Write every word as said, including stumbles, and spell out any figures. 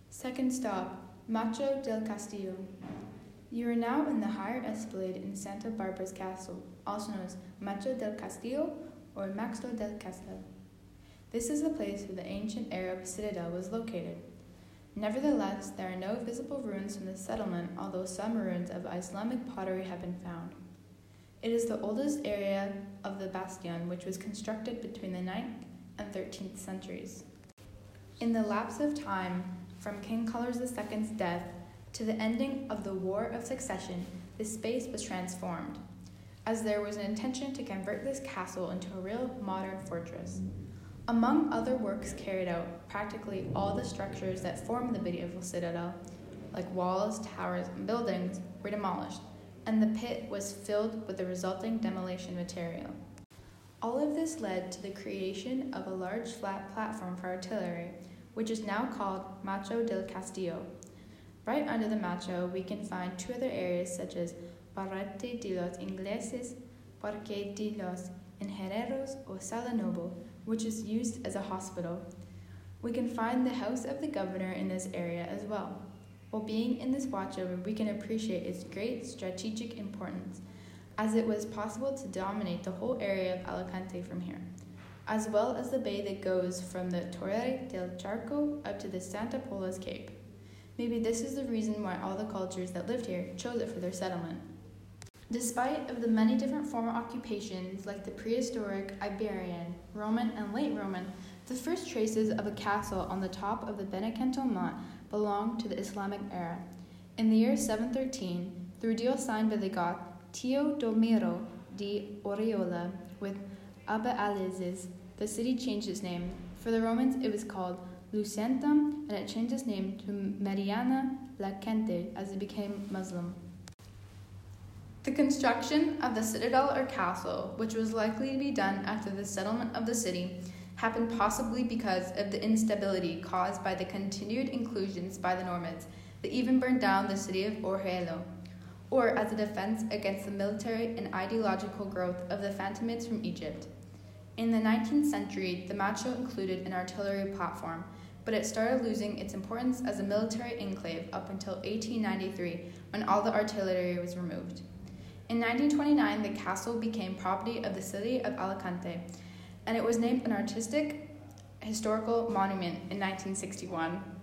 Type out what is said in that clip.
Second stop, Macho del Castillo. You are now in the higher esplanade in Santa Barbara's castle, also known as Macho del Castillo or Maxto del Castillo. This is the place where the ancient Arab citadel was located. Nevertheless, there are no visible ruins from the settlement, although some ruins of Islamic pottery have been found. It is the oldest area of the bastion, which was constructed between the ninth and thirteenth centuries. In the lapse of time, from King Carlos the Second's death to the ending of the War of Succession, this space was transformed, as there was an intention to convert this castle into a real modern fortress. Among other works carried out, practically all the structures that formed the medieval citadel, like walls, towers, and buildings, were demolished, and the pit was filled with the resulting demolition material. All of this led to the creation of a large flat platform for artillery, which is now called Macho del Castillo. Right under the Macho, we can find two other areas such as Barrete de los Ingleses, Parque de los Ingenieros, or Sala Noble, which is used as a hospital. We can find the house of the governor in this area as well. While being in this watchover, we can appreciate its great strategic importance, as it was possible to dominate the whole area of Alicante from here, as well as the bay that goes from the Torre del Charco up to the Santa Pola's Cape. Maybe this is the reason why all the cultures that lived here chose it for their settlement. Despite of the many different former occupations, like the prehistoric, Iberian, Roman, and late Roman, the first traces of a castle on the top of the Benevento Mont belong to the Islamic era. In the year seven thirteen, through deal signed by the Goth Teodomiro de Oriola with Abba Aliases, the city changed its name. For the Romans, it was called Lucentum, and it changed its name to Mariana la Gente as it became Muslim. The construction of the citadel or castle, which was likely to be done after the settlement of the city, happened possibly because of the instability caused by the continued inclusions by the Normans that even burned down the city of Orjuelo, or as a defense against the military and ideological growth of the Fatimids from Egypt. In the nineteenth century, the Macho included an artillery platform, but it started losing its importance as a military enclave up until eighteen ninety-three, when all the artillery was removed. In nineteen twenty-nine, the castle became property of the city of Alicante, and it was named an artistic historical monument in nineteen sixty-one.